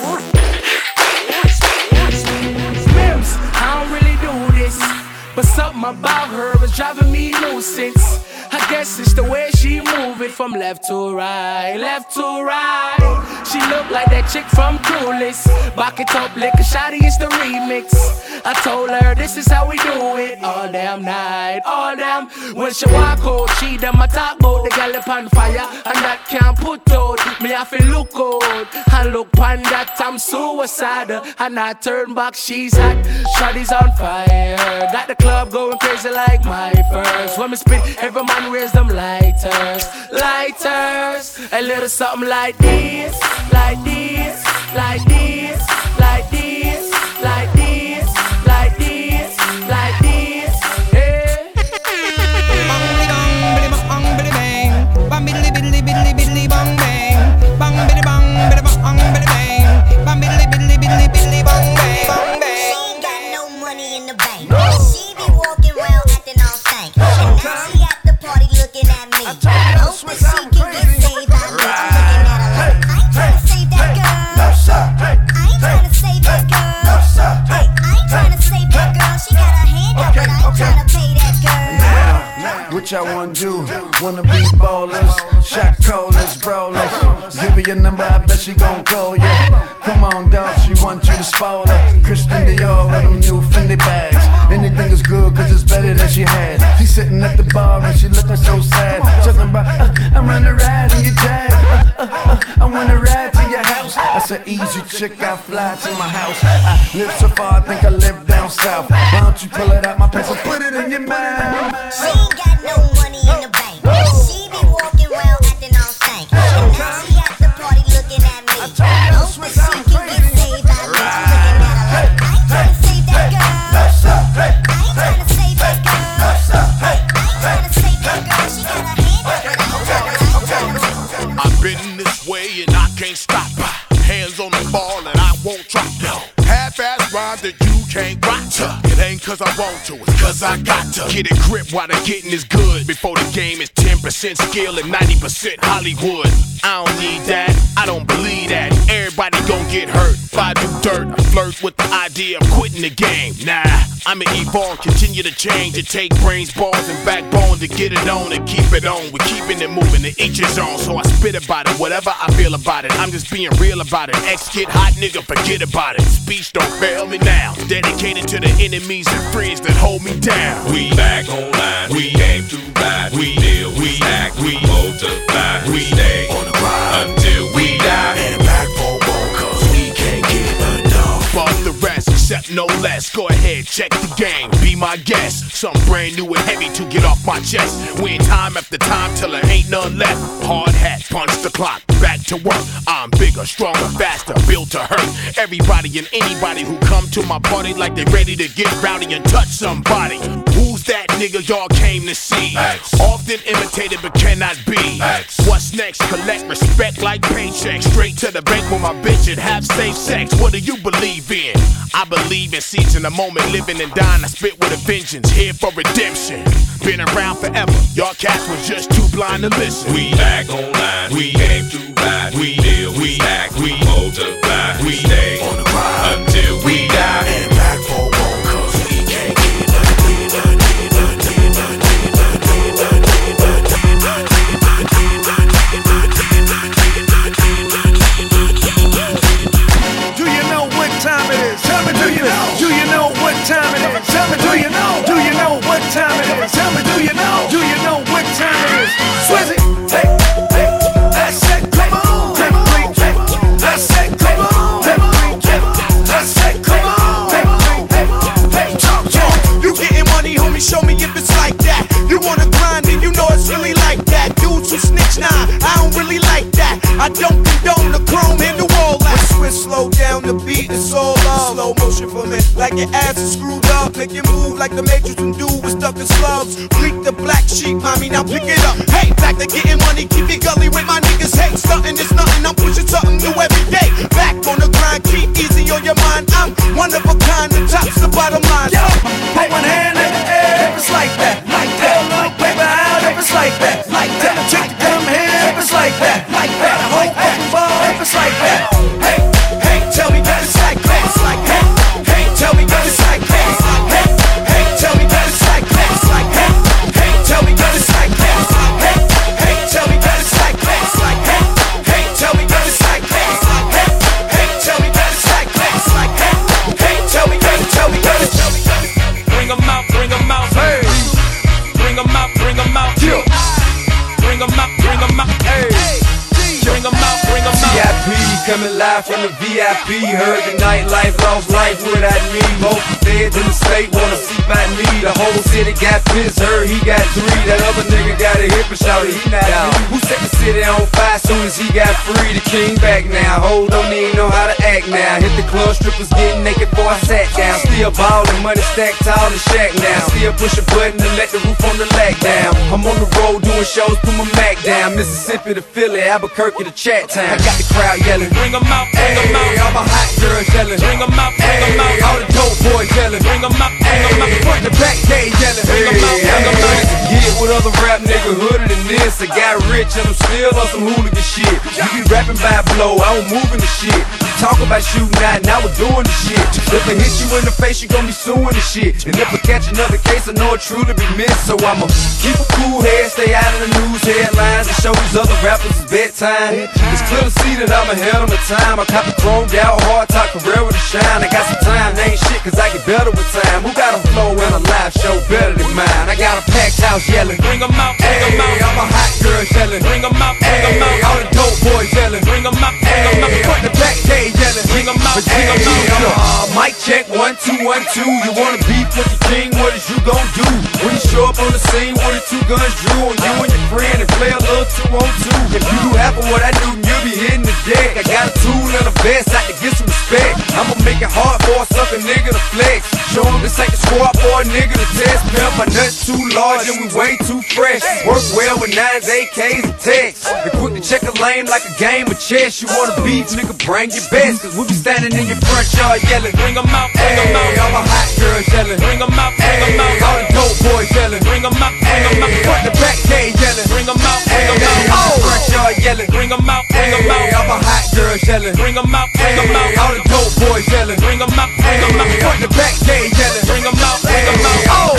Mims, I don't really do this, but something about her is driving me nuisance. I guess it's the way she move it from left to right, left to right. She look like that chick from Clueless. Back it up, lick a shotty, it's the remix. I told her this is how we do it all damn night, all damn. When she walk out, she them a talk about the gal up on fire, and that can't put out. Me I feel look out, and look pon that I'm suicidal, and I turn back, she's hot. Shotty's on fire, got the club going crazy like my first. When me spit, every man wears them lighters, lighters. A little something like this, like this, like this, like this, like this, like this, like this. Hey. Bang bang bang bang bang biddly biddly biddly biddly bang bang bang biddy bang biddy bang biddy bang bang biddly biddly biddly biddly bang bang bang bang. She ain't got no money in the bank. She be walking around acting all stank, and now she at the party looking at me. Hope that she can get saved by me. I'm looking at her like I ain't tryna save that girl. No sir. I ain't tryna save that girl. No sir. Hey, I ain't tryna save that girl. She got her hand up, but I ain't tryna pay that girl. What y'all wanna do? Wanna be ballers, shot callers, brawlers. Give her your number, I bet she gon' call you. Come on, dog, she want you to spoil her. Christian Dior with them new Fendi bags. Anything is good, cause it's better than she had. She sitting at the bar and she looking so sad. Talking about, uh, I'm running ride in your jag. Uh, uh, uh, I wanna ride to your house. I said, easy chick, I fly to my house. I live so far, I think I live down south. Why don't you pull it out my pants and put it in your mouth? She ain't got no money in the bank. She be walking around acting all stank, and now she at the party looking at me. Hope that she can get saved by me. I'm looking at her like I ain't tryna save that girl. I ain't tryna save that girl. I ain't tryna save that girl. She got her hand up, but I ain't tryna. I've been this way and I can't stop. Hands on the ball and I won't drop. No. Half-ass rhymes that you can't rock to. It ain't cause I want to, it's cause I got to. Get a grip while the getting is good. Before the game is ten percent skill and ninety percent Hollywood. I don't need that, I don't believe that. Everybody gon' get hurt if I do dirt. I flirt with the idea of quitting the game. Nah, I'ma evolve, continue to change. It take brains, balls, and backbone to get it on and keep it on. We're keeping it moving, the each is on. So I spit about it, whatever I feel about it. I'm just being real about it. X get hot, nigga, forget about it. Speech don't fail me now. Dedicated to the enemies and friends that hold me down. We back online, we came to ride. We deal, we act, we multiply. We stay on the grind until we die. And back for more cause we can't get enough. Fuck the rest, except no less. Go ahead, check the game, be my guest. Something brand new and heavy to get off my chest. Win time after time till there ain't none left. Hard hat, punch the clock, back to work. I'm bigger, stronger, faster, built to hurt. Everybody and anybody who come to my party like they ready to get rowdy and touch somebody. Who's that nigga y'all came to see? X. Often imitated but cannot be. X. What's next? Collect respect like paychecks. Straight to the bank with my bitch and have safe sex. What do you believe in? I believe in seizing the moment, living and dying. I spit with a vengeance, here for redemption. Been around forever, y'all cats was just too blind to listen. We back online, we came to ride. We deal, we act, we multiply. We stay on the grind until we die. And back for more cause we can't get enough. Do you know what time it is? Tell me, do you know? Do you know what time it is? Tell me, do you know? Do you know what time it is? Tell me, do you know? Do you know what time it is? Swizzy, hey, hey, I said come on, hey, hey, I said come on, hey, hey, I said come on, hey, hey, hey, talk, talk. You getting money, homie? Show me if it's like that. You wanna grind and you know it's really like that. Dudes who snitch, nah, I don't really like that. I don't condone the chrome in the wall. Switch, slow down the beat, it's all love. Slow motion for me, like your ass is screwed up. Make it move like the Matrix and do with stuck in slugs. Bleak the black sheep, mommy, now pick it up. Hey, back to getting money, keep it gully with my niggas. Hey, stunting is nothing, I'm pushing something new every day. Back on the grind, keep easy on your mind. I'm one of a kind, the top's the bottom line. Yo, put one hand in the air, if it's like that, like that. Little paper out, if it's like that, like that. Chick to come here, if it's like that, like that. A whole open ball, if it's like that. Hey, hey, tell me that it's like that, it's like that. Hey, tell me that it's like that. Hey, hey, tell me that it's like that, it's like that. Hey, tell me that it's like that. coming live from the V I P. Heard the nightlife, lost life without me. Most feds in the state wanna see by me. The whole city got pissed, heard he got three. That other nigga got a hip and shouted he not out. Who set the city on fire soon as he got free? The king back now, hold don't even know how to act now. Hit the club, strippers getting naked before I sat down. Still ballin', money stacked tall in shack now. Still push a button to let the roof on the lag down. I'm on the road doing shows, put my Mac down. Mississippi to Philly, Albuquerque to Chat Town. I got the crowd yelling, bring 'em out, bring 'em out. All my hot girls yelling, bring 'em out, bring 'em out. All the dope boys yelling, bring 'em out, bring 'em out. Front to back gate yelling, bring 'em out, bring 'em out. Get with other rap nigga hooded than this. I got rich and I'm still on some hooligan shit. You be rapping by blow, I don't move in the shit. Talk about shooting out, now we're doing the shit. If I hit you in the face, you gon' be suing the shit. And if I catch another case, I know it truly be missed. So I'ma keep a cool head, stay out of the news headlines, and show these other rappers it's bedtime. It's clear to see that I'm ahead of my time. I copy chromed out, hard top career with a shine. I got some time, they ain't shit, cause I get better with time. Who got a flow and a live show better than mine? I got a packed house yelling, bring 'em out, bring 'em out. All my hot girls yelling, bring 'em out, bring 'em out. All the dope boys yelling, bring em out, bring 'em out. Front to back gate yelling, bring 'em out, bring 'em out. Uh, mic check, one, two, one, two. You wanna beef with the king, what is you gon' do? When you show up on the scene, what the two guns drew on you and your friend and play a little two on two. If you do half of what I do, then you'll be hitting the deck. I got a tool and a vest, I can get some respect. I'ma make it hard for a sucker nigga to flex. Show him this ain't the squad for a nigga to test. Pimp, my nuts too large and we way too fresh. Work well with nines, A Ks, and texts. And quick to check a lane like a game of chess. You wanna beef, nigga, bring your best. Cause we be standing in your front yard yelling, bring 'em out, bring 'em out. All my hot girls yelling, bring 'em out, bring 'em out. All the dope boys yelling, bring 'em out, bring 'em out. Front the back gate yelling, bring 'em out, bring 'em out. Oh, front yard yelling, bring 'em out, bring 'em out. All my hot girls yelling, bring 'em out, bring 'em out. All the dope boys yelling, bring 'em out, bring 'em out. Front the back gate yelling, bring 'em out, bring 'em out. Oh.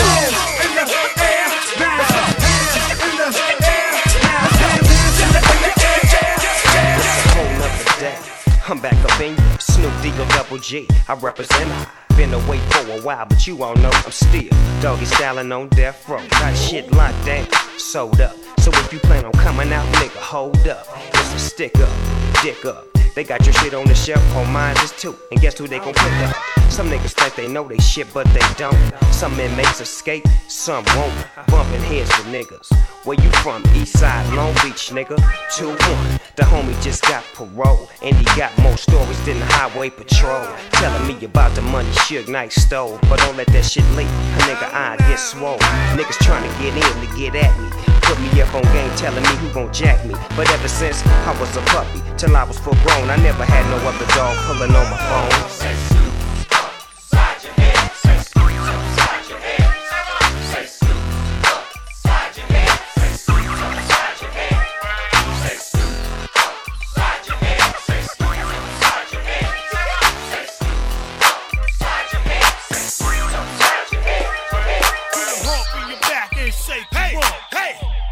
I'm back up in you, Snoop Deagle Double G. I represent I. Been away for a while, but you all know I'm still doggy styling on death row. Got shit locked down, sold up. So if you plan on coming out, nigga, hold up. It's a stick up, dick up. They got your shit on the shelf, on mine is too. And guess who they gon' pick up? Some niggas think they know they shit, but they don't. Some inmates escape, some won't. Bumping heads with niggas. Where you from? East Side, Long Beach, nigga. two one. The homie just got parole. And he got more stories than the highway patrol. Telling me about the money Suge Knight stole. But don't let that shit leak. A nigga eye get swole. Niggas trying to get in to get at me. Put me up on game telling me who gon' jack me. But ever since I was a puppy, till I was full grown, I never had no other dog pulling on my phone. Say Snoop upside your head. Say Snoop upside your head. Say Snoop upside your head. Say Snoop upside your head. Say Snoop upside your head. Say Snoop upside your head. Say Snoop upside your head. Say Snoop upside your head. Put a hump in your back and say, hey, hey.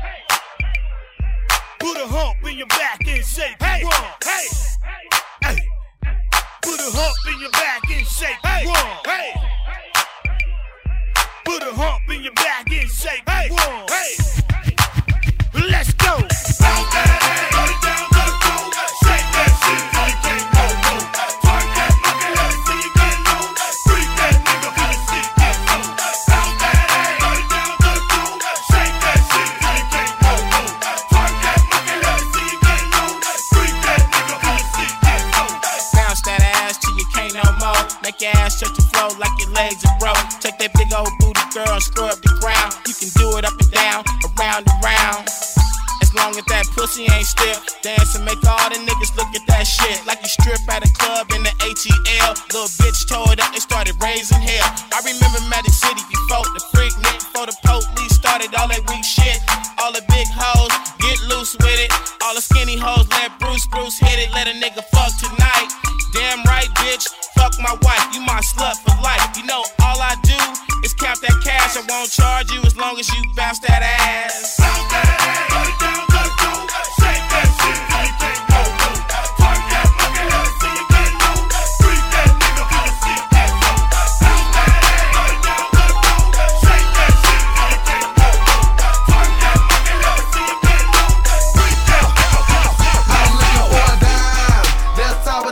Put a hump in your back and say, hey, hey, hey. Put a hump in your back and say, hey, hey. Put a hump in your back and say, hey, hey. Let's go. Bounce that ass, put it down to the floor. Shake that shit till you can't no more. Twerk that monkey, let it see you get low. Freak that nigga, let it see you get low. Bounce that ass, put it down to the floor. Shake that shit till you can't no more. Twerk that monkey, let it see you get low. Freak that nigga, let it see you get low. Bounce that ass till you can't no more. Make your ass touch the floor like your legs are broke. Take that big old booty girl and scrub the ground. You can do it up and down, around and round. As long as that pussy ain't stiff, dance and make all the niggas look at that shit. Like you strip at a club in the A T L. Little bitch tore it up, they started raising hell. I remember Magic City before the freak nick, before the police started all that weak shit. All the big hoes, get loose with it. All the skinny hoes, let Bruce Bruce hit it. Let a nigga fuck tonight. Damn right, bitch, fuck my wife, you my slut for life. You know all I do is count that cash. I won't charge you as long as you bounce that ass. Bounce that ass, put it down to the floor. Shake that shit till you can't no more. Twerk that monkey, let it see you get low. Freak that nigga, let it see you get low. Bounce that ass, put it down to the floor. Shake that shit till you can't no more. Twerk that monkey, let it see you get low. Freak that nigga. I'm looking for a dime. That's all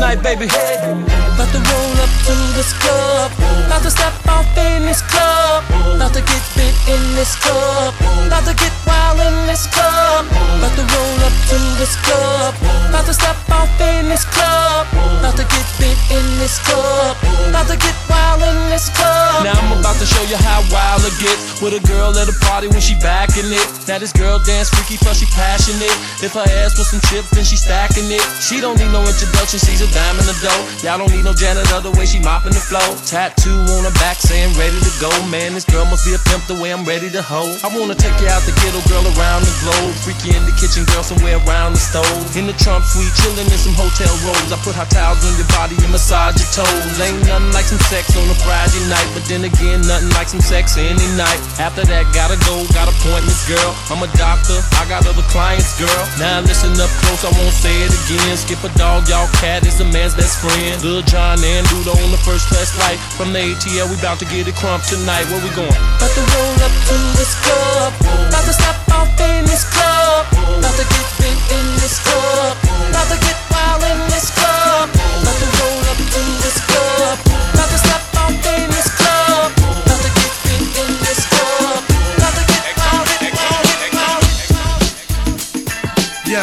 like, baby. About to roll up to this club. About to step off in this club. About to get bit in this club. About to get wild in this club. About to roll up to this club. About to step off in this club. About to get bit in this club. About to get wild in this club. Now I'm about to show you how wild it gets with a girl at a party when she backing it. Now this girl dance freaky plus she passionate. If her ass was some chips then she stacking it. She don't need no introduction, she's a dime in the dough. Y'all don't need no janitor the way she mopping the floor. Tattoo on her back saying ready to go. Man, this girl must be a pimp the way I'm ready to hoe. I wanna take you out the ghetto, girl, around the globe. Freak you in the kitchen, girl, somewhere around the stove. In the Trump suite, chillin' in some hotel robes. I put hot towels on your body and massage your toes. Ain't nothing like some sex on a Friday night, but then again, nothing like some sex any night. After that, gotta go, got appointments, girl. I'm a doctor, I got other clients, girl. Now listen up close, I won't say it again. Skip a dog, y'all cat is a man's best friend. Lil John and Dudo on the first class flight. From the A T L, we bout to get it crump tonight. Where we going? About to roll up to this club. About to step off in this club. About to get big in this club. About to get wild in this club. About to roll up to this club. About to step off in this club. About to get big in this club. About to get wild in wild, wild. Yo,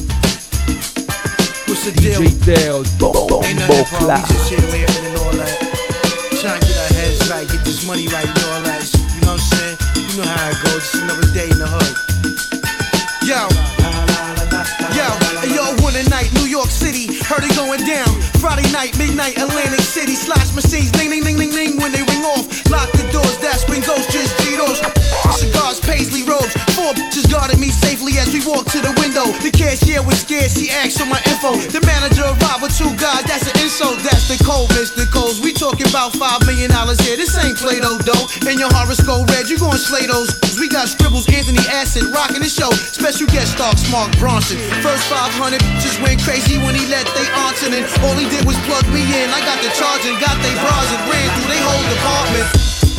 what's the deal? D J Dale, Bombo Clap. We just here laughing and all that. Trying to get our heads right, get this money right and all that. You know what I'm saying? You know how it goes. Just another day in the hood. Yo, yo, yo, one night, New York City, heard it going down. Friday night, midnight, Atlantic City, slash machines, ding, ding, ding, ding, ding. When they ring off, lock the doors. That's when ghosts just Cheetos. Cigars, paisley robes, four bitches guarded me safely as we walked to the window. The cashier was scared, she asked for my info. The manager arrived with two guys, that's an insult. That's the code, Mister Coles. We talking about five million dollars here. This ain't Play-Doh dough. And your horoscope red, you gon' slay those. We got scribbles, Anthony Acid, rocking the show. Special guest star, Mark Bronson. First five hundred just went crazy when he let they answer in. All he did was plug me in. I got the charge and got they bras and ran through they whole department.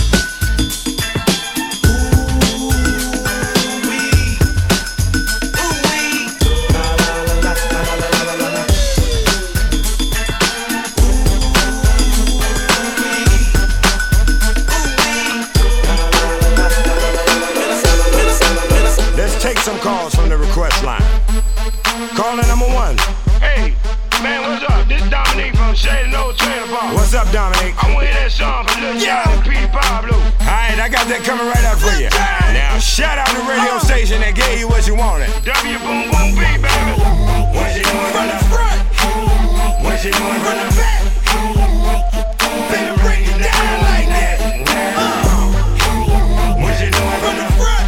Some calls from the request line. Caller number one. Hey, man, what's up? This is Dominique from Shade and Old Trailer Park. What's up, Dominique? I want to hear that song from Lil Jon and P. Pablo. Alright, I got that coming right up for you. Now, shout out the radio station that gave you what you wanted. W Boom Boom B, baby. What you doing from the front? What you doing from the back? Better break it down like that. What you doing from the front?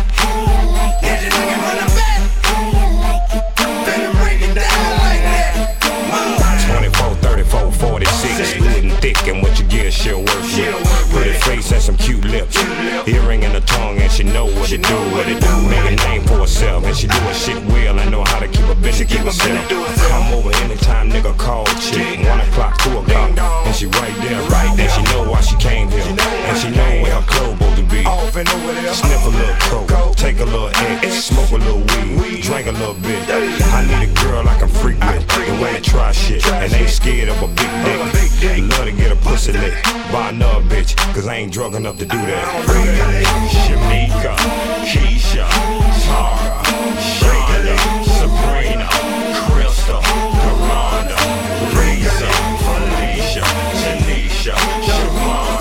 forty-six, good and thick, and what you get sure worth it. Pretty face and some cute lips, earring in her tongue, and she know what to do. What it do? Make a name for herself, and she do her shit well. I know how to keep a business to herself. Come over anytime, nigga, call chick. One o'clock, two o'clock, and she right there, right there. She know why she came here, and she know where her clothes supposed to be. Sniff a little coke, take a little X, smoke a little weed, drink a little bit. I need a girl I can freak with, the way to try shit, and ain't scared of a big dick. Love to get a pussy lick by another bitch, cause I ain't drunk enough to do that. Shamika, Keisha, Tara, Shonda, Sabrina, Crystal, Karanda, Reza, Felicia, Tanisha, Siobhan,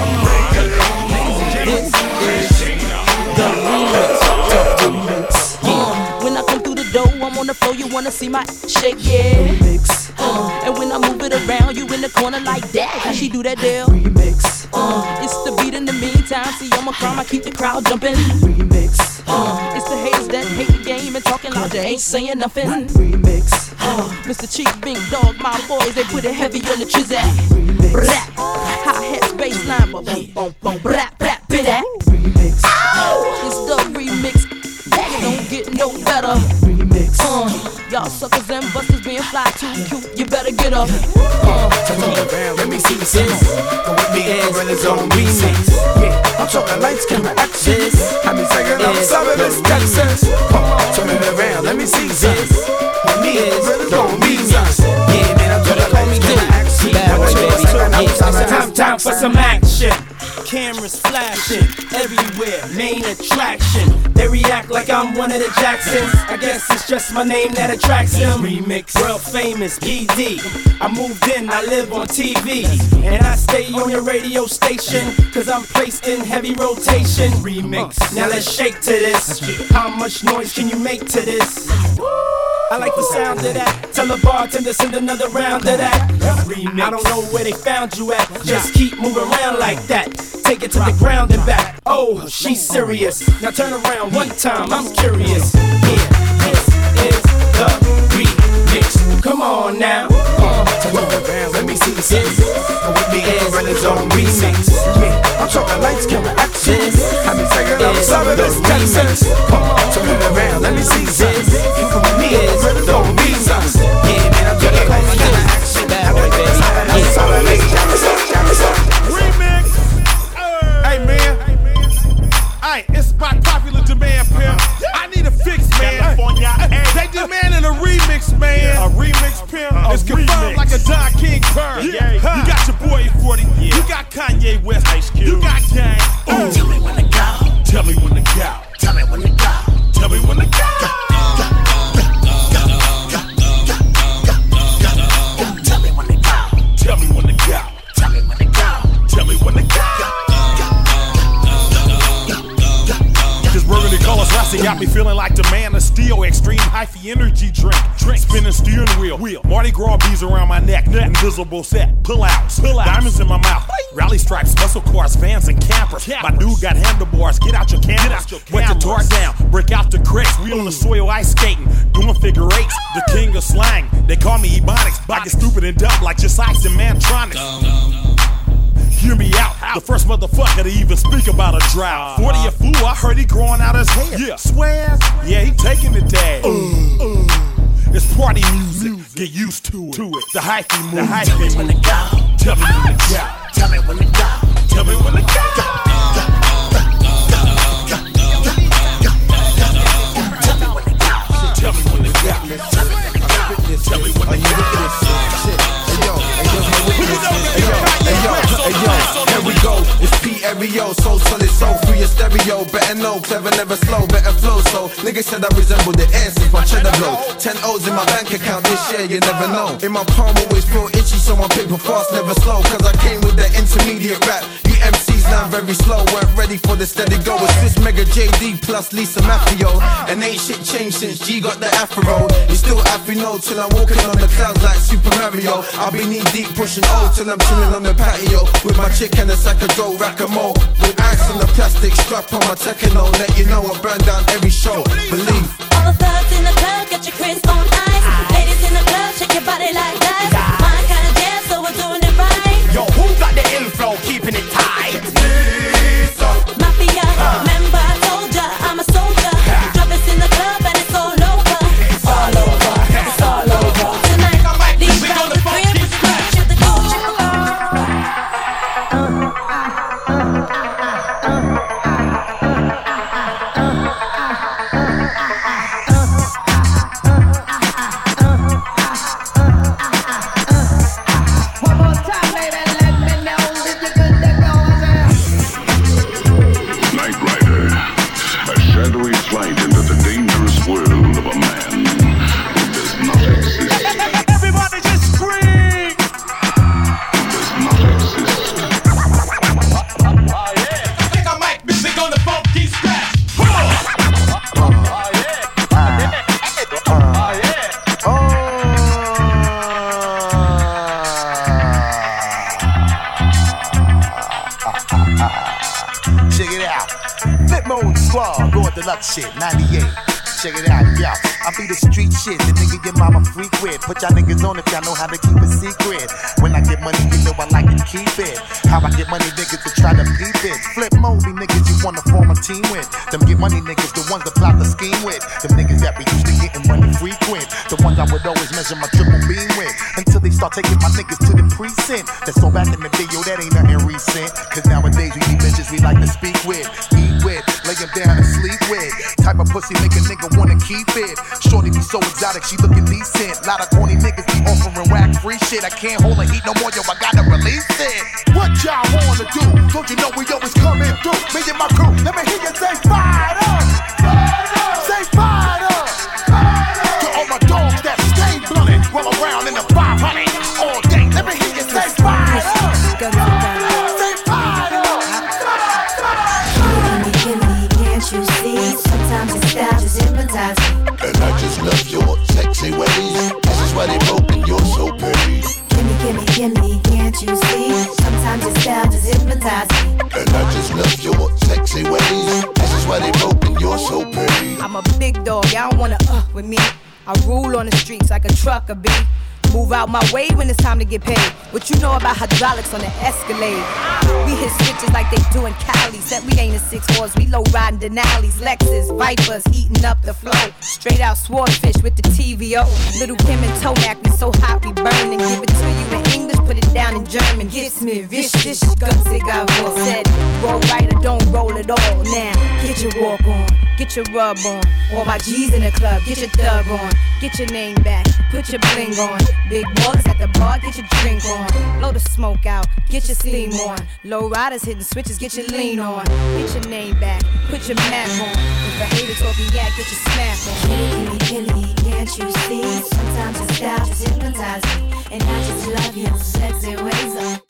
Amanda, Christina, uh, When I come through the door, I'm on the floor, you wanna see my shake, yeah. Remix. Uh, and when I move it around, you in the corner like that. How she do that deal? Remix. Uh, it's the beat in the meantime. See, I'm a crime, I keep the crowd jumping. Remix. Uh, it's the haters that hate the game and talking loud, they ain't saying nothing. Remix. Uh, Mister Chief, Big Dog, my boys, they put it heavy on the trizzy. Rap, hi-hat, bass line, boom, boom, boom, rap, rap, bit that. Remix. Oh, it's the remix. It don't get no better. Remix. Uh, y'all suckers and busters being fly too cute. You better get up. Uh, Turn around, let me see the sense. Go with me and umbrellas on remix. Yeah, I'm talking lights, camera, action. I be taking off cellular Texas. Turn it around, let me see this. With me and umbrellas on remix. Yeah, man, I'm talking lights, time for some action. Cameras flashing everywhere, main attraction. They react like I'm one of the Jacksons. I guess it's just my name that attracts them. Remix, world famous B D. I moved in, I live on T V, and I stay on your radio station, cause I'm placed in heavy rotation. Remix, now let's shake to this. How much noise can you make to this? I like the sound of that. Tell the bartender send another round of that. Remix. I don't know where they found you at. Just keep moving around like that. Take it to the ground and back. Oh, she's serious. Now turn around one time, I'm curious. Yeah, this is the remix. Come on now. Uh, turn around, let me see the sense. With me and Reynolds on remix. Yeah, I'm talking lights, camera, action. I mean, take it up, some of this Texas. Come on, turn around, let me see the sense. Come with me and Reynolds on remix. Yeah, man, I'm talking lights, camera, action. Remix. Hey man, hey, it's by popular demand, pimp. I need a fix, man. They demanding a remix, man. A remix, pimp. It's confirmed like a Don King bird. You got your boy E forty. You got Kanye West. You got Gang. Tell me when to go. Tell me when to go. Tell me when to go. Tell me when to go. Tell me when to go. Tell me when to go. Tell me when to go. Tell me when to go. This burgundy colors Rossi got me feeling like the man of steel. Extreme hyphy energy drink. Drink. Spinning steering wheel. wheel. Mardi Gras beads around my neck. neck. Invisible set. Pull outs. Pull outs. Diamonds in my mouth. Rally stripes, muscle cars, vans, and campers. campers. My dude got handlebars. Get out your cameras. Wet the door down. Break out the crates. We on the soil ice skating. Doing figure eights. The king of slang. They call me Ebonics. I get stupid and dumb like just ice and Mantronics. Hear me out, the first motherfucker to even speak about a drought. forty a fool, I heard he growing out his hair. Yeah, swear, yeah, he taking it down. Uh, uh, it's party music, get used to it. To it. The hyphy move. The hyphy Tell me when to go. Tell me when to go. Tell me when to go. Tell me when to go. Tell me when to go. Tell me when to go. Tell me when to go. Hey yo, hey yo, here we go. It's P Aereo, so solid, so free a stereo. Better know, clever, never slow, better flow. So niggas said I resemble the air since my cheddar blow. Ten O's in my bank account this year, you never know. In my palm always feel itchy, so my paper fast, never slow. Cause I came with the intermediate rap. You M Cs now very slow, weren't ready for the steady go. It's this Mega J D plus Lisa Mafio. And ain't shit changed since G got the afro. You still Afro till I'm walking on the clouds like Super Mario. I'll be knee deep pushing O till I'm chilling on the patio with my chick and a sack of dough, rack-a-mole. With ice on the plastic strap on my techno. Let you know I burn down every show, believe. All the thugs in the club, get your Chris on ice. Ladies in the club, shake your body like that. My kind of jam, so we're doing it right. Yo, who got the inflow, keeping it tight? Mafia, remember I told ya, I'm a soldier. Drop this in the club and it's all over. It's all over, it's all over. Tonight, these round the crib with the club, shit the door, shit the door. Shit, ninety-eight. Check it out, yo. I be the street shit, the nigga your mama freak with. Put y'all niggas on if y'all know how to keep it secret. When I get money, you know I like to keep it. How I get money, niggas to try to peep it. Flip mode, the niggas you wanna form a team with. Them get money niggas, the ones that plot the scheme with. Them niggas that be used to getting money frequent. The ones I would always measure my triple beam with. Until they start taking my niggas to the precinct. That's so back in the day, yo, that ain't nothing recent. Cause nowadays we need bitches we like to speak with, eat with, lay them down and sleep with. Type of pussy make a nigga wanna keep it. Shorty be so exotic, she looking decent. Lot of corny niggas be offering whack free police shit. I can't hold the heat no more, yo, I gotta release it. What y'all wanna do? Don't you know we always coming through? Me and my crew, let me hear you say fired up. Say fired up. To all my dogs that stay blunted, roll around in the five hundred all day. Let me hear you say fired up. Say fired up. Gimme, gimme, can't you see? Sometimes your style just hypnotize me. And I just love your sexy ways. This is why they broke and you're so pretty. Gimme, gimme, gimme, can't you see? Sometimes your style just hypnotize me. And I just love your sexy ways. This is why they broke and you're so pretty. I'm a big dog, y'all don't wanna uh with me. I rule on the streets like a trucker bee. Move out my way when it's time to get paid. What you know about hydraulics on the Escalade? We hit switches like they do in Cali. Said we ain't a six fours, we low riding Denali's, Lexus, Vipers, eating up the flow. Straight out swordfish with the T V O. Little Kim and Tomac, we so hot we burn. And give it to you in English, put it down in German. Gib's mir wichtig, günstiger Wurst. Said roll right or don't roll at all. Now get your walk on, get your rub on. All my G's in the club, get your thug on. Get your name back, put your bling on. Big boys at the bar, get your drink on. Blow the smoke out, get your steam on. Low riders hitting switches, get your lean on. Get your name back, put your map on. If a hater talking yak, get your snap on. Gimme, gimme, can't you see? Sometimes your style just hypnotize me. And I just love your sexy ways.